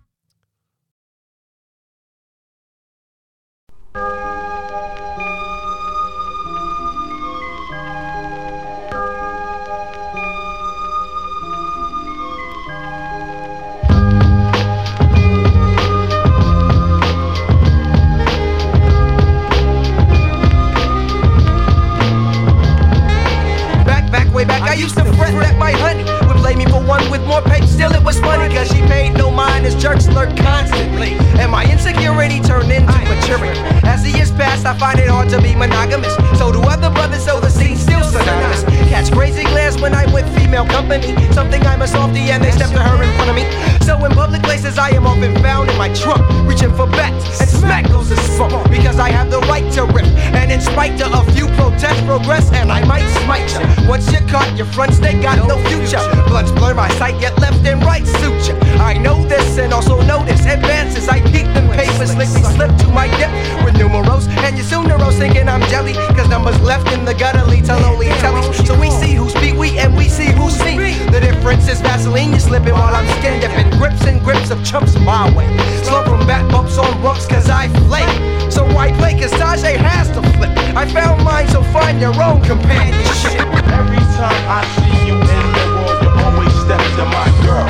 I used to fret that my honey would play me for one with more pay. Still it was funny cause she paid no mind as jerks lurk constantly. And my insecurity turned into maturity. As the years passed I find it hard to be monogamous. So do other brothers, so the scene's still synonymous. Catch crazy glares when I'm with female company. Something I'm a softie and they step to her in front of me. So in public places I am often found in my trunk, reaching for bats and smack goes the smoke. Because I have the right to rip. And in spite of a few protests progress and I might smite you. Once you're caught your front stay got no future. Bloods blur my sight, yet left and right suit you. I know this and also notice advances. I peek them papers, slickly slip to my dip with numerals. And you soon neuros thinking I'm jelly, cause numbers left in the gutter lead to lonely tellies. So we see who speak we and we see who see. The difference is Vaseline, you're slipping while I'm skin dipping. Grips and grips of chumps my way. Slow from back bumps on bumps cause I flake. So why play cause Tajay has to flip. I found mine, so find your own companionship. Every time I see you in the world, you always step to my girl.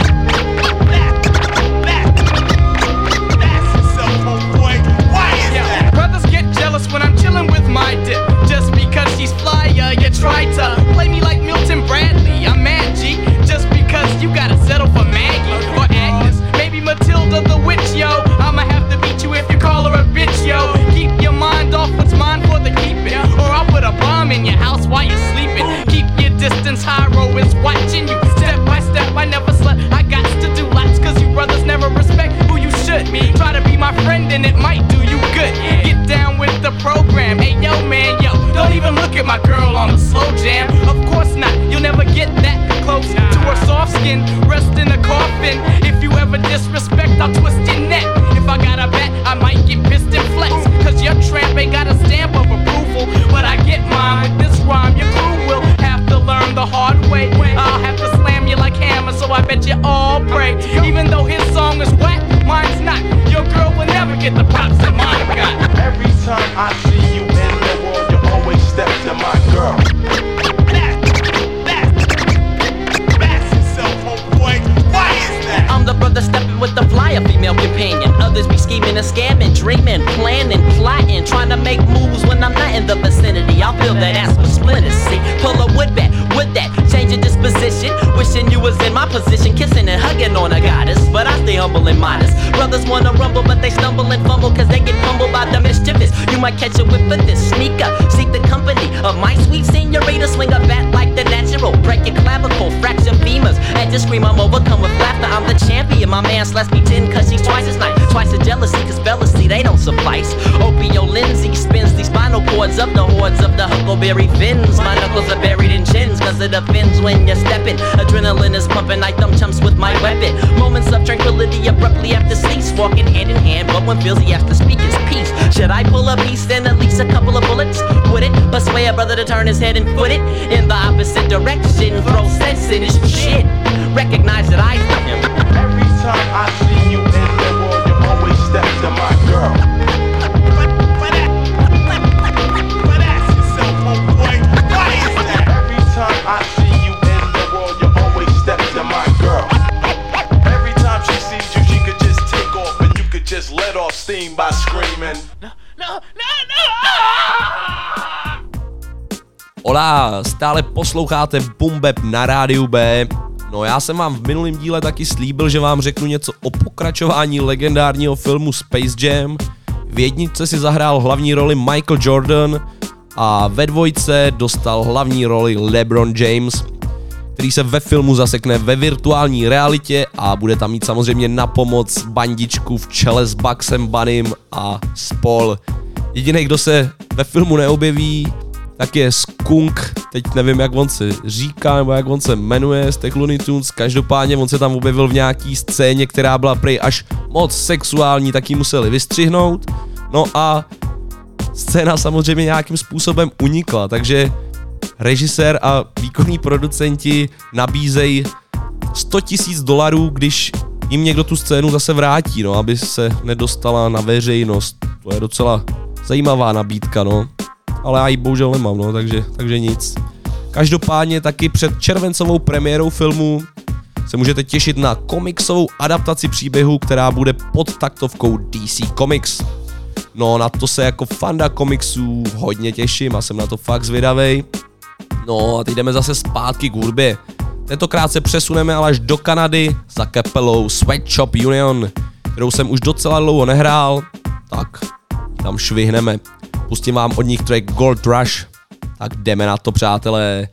Brothers get jealous when I'm chillin' with my dip. Just because she's flyer, you try to play me like Milton Bradley. I'm mad, G. Just because you gotta settle for Maggie or Agnes, maybe Matilda the witch, yo. I'ma have to beat you if you call her a bitch, yo. Keep your mind off what's mine for the keeping, or I'll put a bomb in your house while you're sleeping. Keep your distance, Hyro is watching you. Step by step, I never slept. I got to do lots cause you brothers never respect who you should. Try to be my friend and it might do you good. Get down with the program. Hey yo man, yo, don't even look at my girl on a slow jam. Of course not, you'll never get that close to her soft skin. Rest in a coffin. If you ever disrespect, I'll twist your neck. If I got a bet, I might get pissed and flex. Cause your tramp ain't got a stamp of approval. But I get mine with this rhyme. Your crew will have to learn the hard way. I'll have to slam you like hammer, so I bet you all pray. Even though his song is whack, mine's not. Your girl will never get the props that mine got. Every time I see you in the world, you always step to my girl. I'm the brother stepping with the flyer female companion. Others be scheming and scamming, dreaming, planning, plotting, trying to make moves when I'm not in the vicinity. I'll feel that ass with splinters. See, pull a wood bat Would that change your disposition? Wishing you was in my position, kissing and hugging on a goddess. But I stay humble and modest. Brothers wanna rumble, but they stumble and fumble, cause they get humbled by the mischievous. You might catch a whiff of this. Sneak up, seek the company of my sweet senorita. Swing a bat like the natural. Break your clavicle, fracture femurs. And just scream, I'm overcome with laughter. I'm the champion. My man slaps me ten, cause she's twice as nice. Twice as jealousy, cause jealousy, they don't suffice. Opio Lindsay spins these spinal cords up the hordes of the huckleberry fins. My knuckles are buried in chins, cause it offends when you're stepping. Adrenaline is pumping like thumb chumps with my weapon. Moments of tranquility abruptly have to cease. Walking hand in hand, but when feels he has to speak his peace. Should I pull a piece and at least a couple of bullets? Would it persuade a brother to turn his head and foot it in the opposite direction? Throw sense in his shit. Recognize that I am. Every time I see you in the world, you always step to my girl. But ask yourself, homeboy, why is that? Every time I see you in the world, you always step to my girl. Every time she sees you, she could just take off and you could just let off steam by screaming. No, no, no, no! Hola, stále posloucháte Boom Bap na rádiu B. No já jsem vám v minulém díle taky slíbil, že vám řeknu něco o pokračování legendárního filmu Space Jam. V jedničce si zahrál hlavní roli Michael Jordan a ve dvojce dostal hlavní roli LeBron James, který se ve filmu zasekne ve virtuální realitě a bude tam mít samozřejmě na pomoc bandičku v čele s Bugsem Bunnym a spol. Jediný, kdo se ve filmu neobjeví, tak je Skunk, teď nevím, jak on se říká, nebo jak on se jmenuje z těch Looney Tunes, každopádně on se tam objevil v nějaký scéně, která byla prej až moc sexuální, tak ji museli vystřihnout, no a scéna samozřejmě nějakým způsobem unikla, takže režisér a výkonní producenti nabízejí sto tisíc dolarů, když jim někdo tu scénu zase vrátí, no, aby se nedostala na veřejnost, to je docela zajímavá nabídka, no. Ale já ji bohužel nemám, no, takže, takže nic. Každopádně taky před červencovou premiérou filmu se můžete těšit na komiksovou adaptaci příběhu, která bude pod taktovkou D C Comics. No, na to se jako fanda komiksů hodně těším a jsem na to fakt zvědavej. No a teď jdeme zase zpátky k hudbě. Tentokrát se přesuneme ale až do Kanady za kapelou Sweatshop Union, kterou jsem už docela dlouho nehrál, tak tam švihneme. Pustím vám od nich track Gold Rush, tak jdeme na to, přátelé.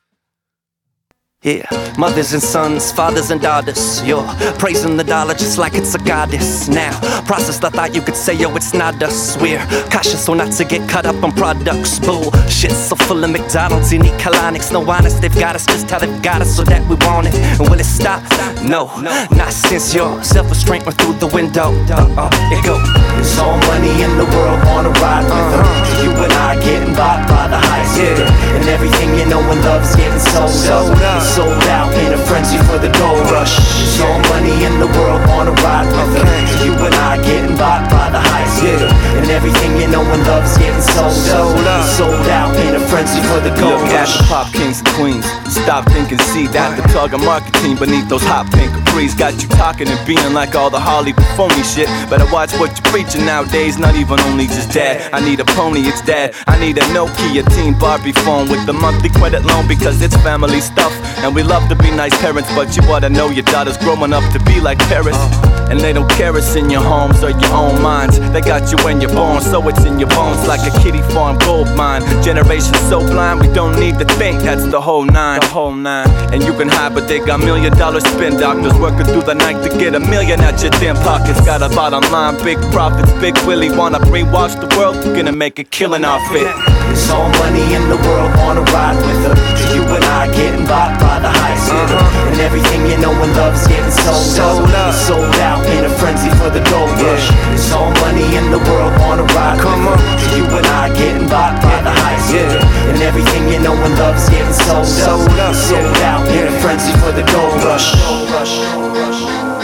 Yeah, mothers and sons, fathers and daughters, you're praising the dollar just like it's a goddess. Now, process I thought you could say, yo, it's not us. We're cautious so not to get caught up on products. Bullshit so full of McDonald's, you need colonics. No honest, they've got us just how they've got us so that we want it. And will it stop? No, not since your self-restraint went through the window. Uh-uh, it go. There's all money in the world, wanna ride with her. You and I getting bought by the highest bidder. And everything you know and love's getting sold up. Sold out in a frenzy for the gold rush. There's all money in the world, wanna ride with her. You and I getting bought by the highest bidder. And everything you know and love's getting sold up. Sold out in a frenzy for the gold Look rush. at the pop kings and queens. Stop thinking, see that the target marketing beneath those hot pink capris got you talking and being like all the Hollywood phony shit. Better watch what you're preaching nowadays. Not even only just dad. I need a pony, it's dad. I need a Nokia Teen Barbie phone with the monthly credit loan because it's family stuff. And we love to be nice parents, but you ought to know your daughter's growing up to be like Paris. And they don't care it's in your homes or your own minds. They got you when you're born, so it's in your bones like a kiddie farm gold mine. Generation so blind, we don't need to think, that's the whole nine. The whole nine. And you can hide, but they got million dollar spin doctors working through the night to get a million at your damn pockets. Got a bottom line, big profits, Big Willie wanna brainwash the world, you're gonna make a killing off it. There's all money in the world, wanna ride with her. You and I getting bought by the highest bidder. Uh-huh. And everything you know and love's getting sold, sold up. Sold out in a frenzy for the gold rush. Yeah. There's all money in the world, wanna ride Come with her. You and I getting bought by the highest bidder. Yeah. And everything you know and love's getting sold, sold up. Sold out in a frenzy for the gold rush. Gold rush. Gold rush.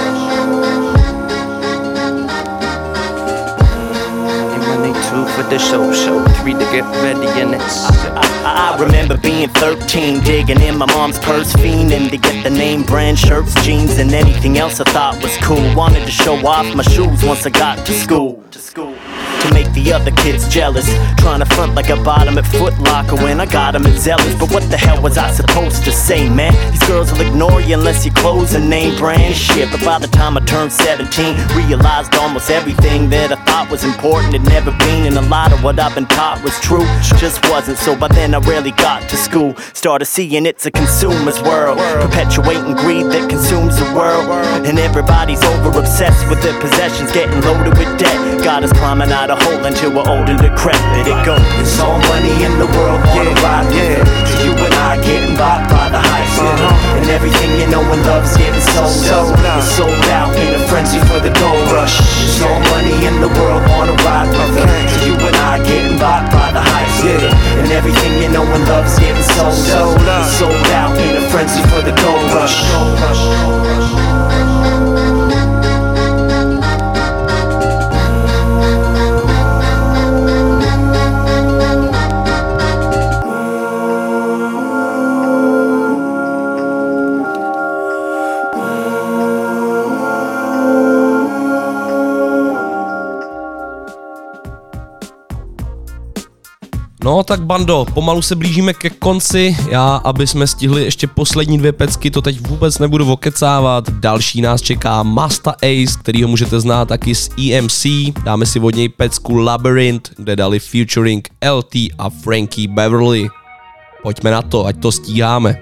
Two for the show, show three to get ready and it's I, I remember being thirteen, digging in my mom's purse, fiending to get the name brand shirts, jeans, and anything else I thought was cool. Wanted to show off my shoes once I got to school. To school. to make the other kids jealous. Trying to front like I bought them at Foot Locker when I got them at Zealous. But what the hell was I supposed to say, man? These girls will ignore you unless your clothes are name brand shit. But by the time I turned seventeen, realized almost everything that I thought was important had never been. And a lot of what I've been taught was true, just wasn't. So by then I rarely got to school. Started seeing it's a consumer's world, perpetuating greed that consumes the world. And everybody's over obsessed with their possessions, getting loaded with debt. Got us climbing out a hole until we're old and decrepit. It goes, it's all money in the world, wanna yeah, ride with yeah. it. You and I getting bought by the hype, uh-huh. And everything you know and love's getting sold, sold out. It's sold out in a frenzy for the gold rush. It's all money in the world, wanna ride with it. You and I getting bought by the hype, yeah. And everything you know and love's getting sold, sold out. It's sold out in a frenzy for the gold rush. Gold rush, gold rush. No tak bando, pomalu se blížíme ke konci, já, aby jsme stihli ještě poslední dvě pecky, to teď vůbec nebudu okecávat. Další nás čeká Masta Ace, kterýho můžete znát taky z E M C, dáme si od něj pecku Labyrinth, kde dali featuring L T a Frankie Beverly. Pojďme na to, ať to stíháme.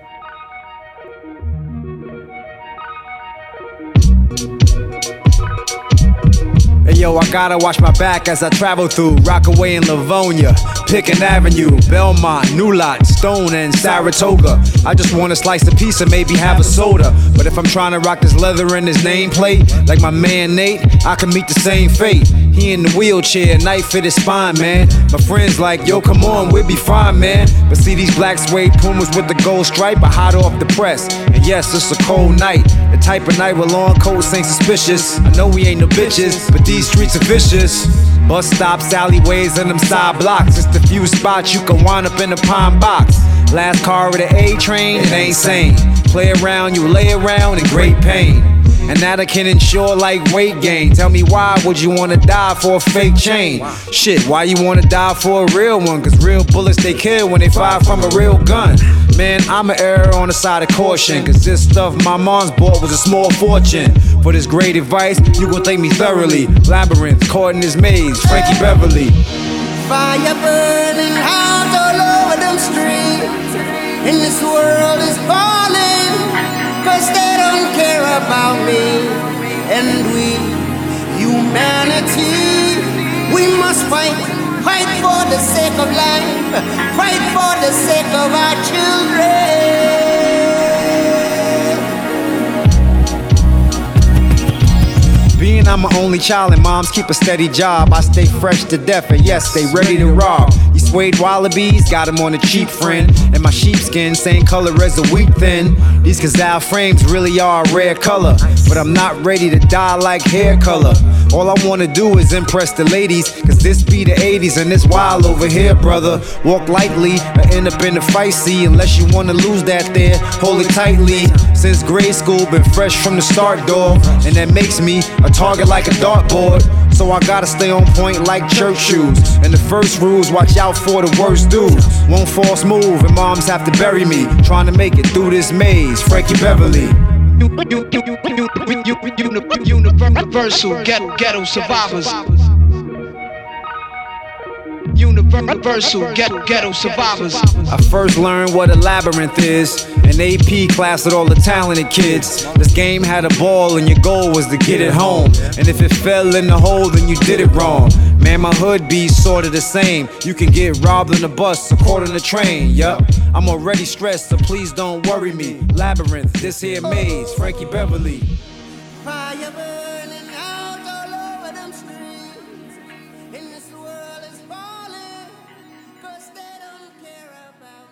Hey yo, I gotta watch my back as I travel through Rockaway and Livonia, Pickens Avenue, Belmont, New Lot, Stone and Saratoga. I just wanna slice a piece and maybe have a soda. But if I'm trying to rock this leather in his nameplate, like my man Nate, I can meet the same fate. He in the wheelchair, knife fit his spine, man. My friends like, yo, come on, we'll be fine, man. But see these black suede Pumas with the gold stripe are hot off the press. And yes, it's a cold night, the type of night where long coats ain't suspicious. I know we ain't no bitches, but these streets are vicious. Bus stops, alleyways, and them side blocks. Just a few spots you can wind up in a pine box. Last car of the A train, it ain't sane. Play around, you lay around in great pain. And that I can ensure like weight gain. Tell me why would you wanna die for a fake chain? Shit, why you wanna die for a real one? Cause real bullets they kill when they fire from a real gun. Man, I'm an error on the side of caution. Cause this stuff my mom's bought was a small fortune. For this great advice, you gon' thank me thoroughly. Labyrinth, caught in this maze, Frankie Beverly. Fire burning out all over them streets, and this world is falling, cause they don't care about me. And we, humanity, we must fight, fight for the sake of life, fight for the sake of our children. Being I'm an only child and moms keep a steady job, I stay fresh to death and yes, they ready to rob. These suede wallabies, got them on a cheap friend. And my sheepskin, same color as a wheat thin. These gazelle frames really are a rare color, but I'm not ready to die like hair color. All I wanna do is impress the ladies, cause this be the eighties and it's wild over here, brother. Walk lightly or end up in the fight, see. Unless you wanna lose that there, hold it tightly. Since grade school, been fresh from the start, dog. And that makes me a target like a dartboard. So I gotta stay on point like church shoes. And the first rule's watch out for the worst dudes. One false move and moms have to bury me, trying to make it through this maze, Frankie Beverly. Universal ghetto, ghetto survivors. Universal ghetto, ghetto survivors. I first learned what a labyrinth is in A P class with all the talented kids. This game had a ball and your goal was to get it home. And if it fell in the hole, then you did it wrong. Man, my hood be sorta the same. You can get robbed on the bus or caught on the train. Yup, I'm already stressed, so please don't worry me. Labyrinth, this here maze, Frankie Beverly. Fire burning out all over them streets, and this world is falling, cause they don't care about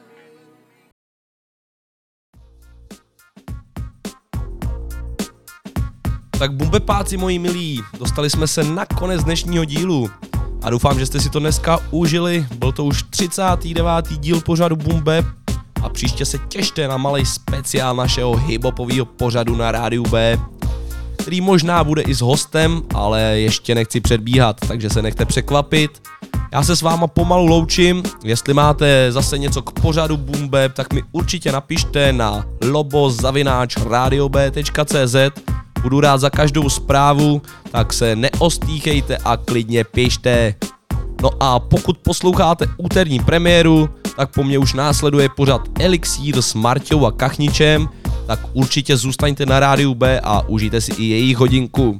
me. Tak bumbepáci moji milí, dostali jsme se na konec dnešního dílu a doufám, že jste si to dneska užili. Byl to už třicátý devátý díl pořadu Bumbeb a příště se těšte na malej speciál našeho hiphopového pořadu na rádiu B. který možná bude i s hostem, ale ještě nechci předbíhat, takže se nechte překvapit. Já se s váma pomalu loučím, jestli máte zase něco k pořadu Boom Bap, tak mi určitě napište na lobo zavináč radio b tečka cé zet. Budu rád za každou zprávu, tak se neostýchejte a klidně pište. No a pokud posloucháte úterní premiéru, tak po mně už následuje pořad Elixír s Marťou a Kachničem, tak určitě zůstaňte na rádiu B a užijte si i jejich hodinku.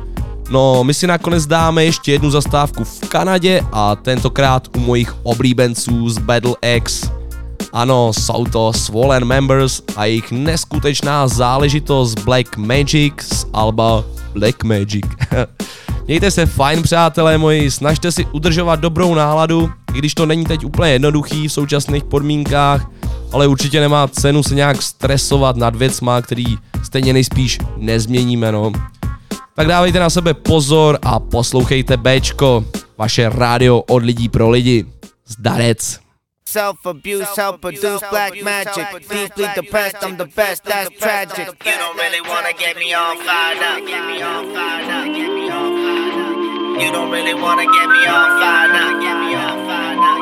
No, my si nakonec dáme ještě jednu zastávku v Kanadě a tentokrát u mojich oblíbenců z Battle X. Ano, jsou to Swollen Members a jejich neskutečná záležitost Black Magic z alba Black Magic. Mějte se fajn, přátelé moji, snažte si udržovat dobrou náladu, i když to není teď úplně jednoduchý v současných podmínkách, ale určitě nemá cenu se nějak stresovat nad věcma, který stejně nejspíš nezměníme, no. Tak dávejte na sebe pozor a poslouchejte Bčko, vaše rádio od lidí pro lidi. Zdarec. Self-abuse, self-produced black magic. Deeply depressed, I'm the best, that's tragic. You don't really wanna get me all fired up. Get me all fired up. Get me all fired up. You don't really wanna get me all fired up. Get me all fired up.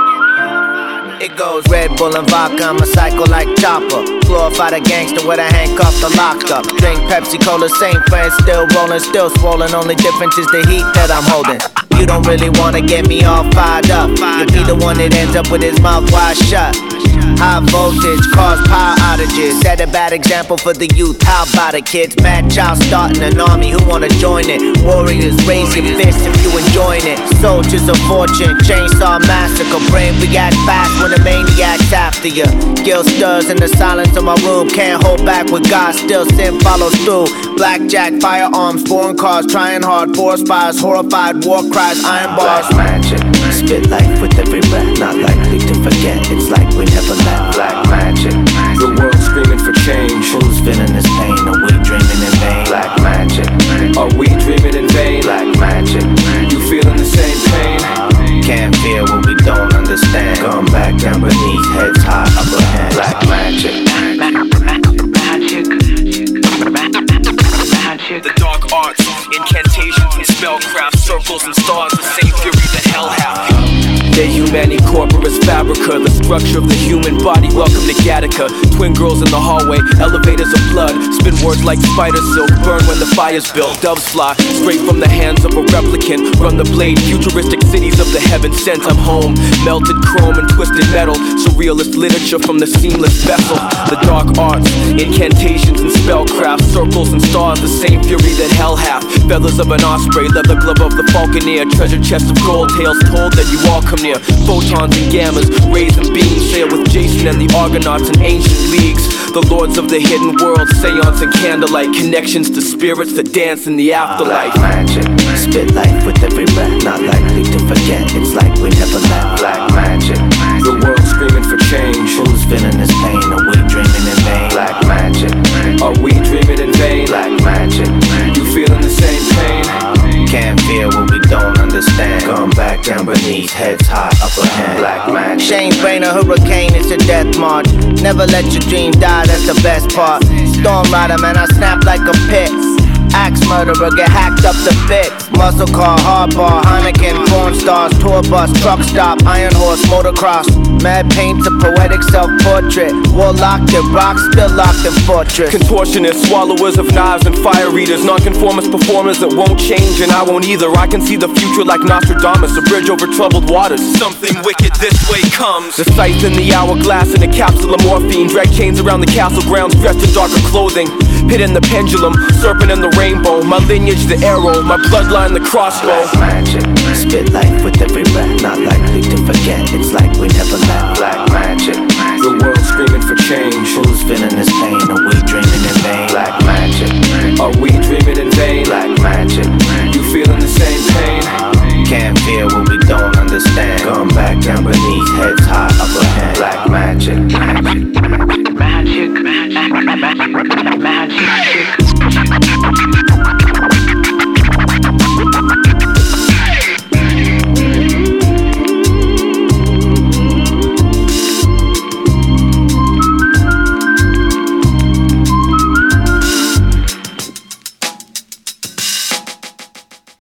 It goes Red Bull and vodka, I'm a psycho like Chopper. Glorified a gangster with a handcuff to locked up. Drink Pepsi Cola, same friends, still rolling, still swollen. Only difference is the heat that I'm holding. You don't really wanna get me all fired up. You'll be the one that ends up with his mouth wide shut. High voltage cause power outages. Set a bad example for the youth. How about it, kids? Mad child starting an army. Who wanna join it? Warriors, raise your fist if you enjoying it. Soldiers of fortune, chainsaw massacre. Brain react fast when the maniac's after you. Guilt stirs in the silence of my room. Can't hold back with God, still sin follows through. Blackjack, firearms, foreign cars, trying hard. Forest fires, horrified, war cries, iron bars. Black magic, spit life with every breath. Not likely to forget, it's like we never left. Black magic, the world's screaming for change. Who's feeling this pain? Are we dreaming in vain? Black magic, are we dreaming in vain? Black magic, you feeling the same pain? Can't feel what we don't understand. Going back down beneath, heads high, upper hand. Black magic, magic, magic. The dark arts, incantations and spellcraft, circles and stars, the same fury that hell hath. De Humani Corporis Fabrica, the structure of the human body. Welcome to Gattaca. Twin girls in the hallway, elevators of blood. Spin words like spider silk, burn when the fire's built. Doves fly straight from the hands of a replicant. Run the blade, futuristic cities of the heaven sent. I'm home, melted chrome and twisted metal. Surrealist literature from the seamless vessel. The dark arts, incantations and spellcraft. Circles and stars, the same fury that hell hath. Feathers of an osprey, leather glove of the falconer. Treasure chest of gold, tales told that you all come near. Photons and gammas, rays and beams. Sail with Jason and the Argonauts in ancient leagues. The lords of the hidden world, seance and candlelight. Connections to spirits that dance in the afterlife. Black magic, spit life with every breath. Not likely to forget, it's like we never left. Black magic, the world's screaming for change. Who's feeling this pain? Are we dreaming in vain? Black magic, are we dreaming in vain? Black magic, you feeling the same pain? Can't feel what we don't understand. Going back down beneath, heads high, upper hand. Black magic. Shane Brain, a hurricane, it's a death march. Never let your dream die, that's the best part. Storm rider, man, I snap like a pit. Axe murderer, get hacked up to bits. Muscle car, hard bar, Heineken, porn stars, tour bus, truck stop, iron horse, motocross. Mad paints a poetic self-portrait. Warlock that rocks, still locked in fortress. Contortionists, swallowers of knives and fire eaters. Nonconformist performers that won't change and I won't either. I can see the future like Nostradamus, a bridge over troubled waters. Something wicked this way comes. The scythe in the hourglass in a capsule of morphine. Drag chains around the castle grounds dressed in darker clothing. Pit in the pendulum, serpent in the rainbow. My lineage the arrow, my bloodline the crossbow. Black magic, spit life with every breath. Not likely to forget, it's like we never left. Black magic, the world's screaming for change. Who's feeling this pain? Are we dreaming in vain? Black magic, are we dreaming in vain? Black magic, you feeling the same pain? Can't feel what we don't understand. Going back down beneath, heads high, upper hand. Black magic, magic, magic, magic, magic, magic.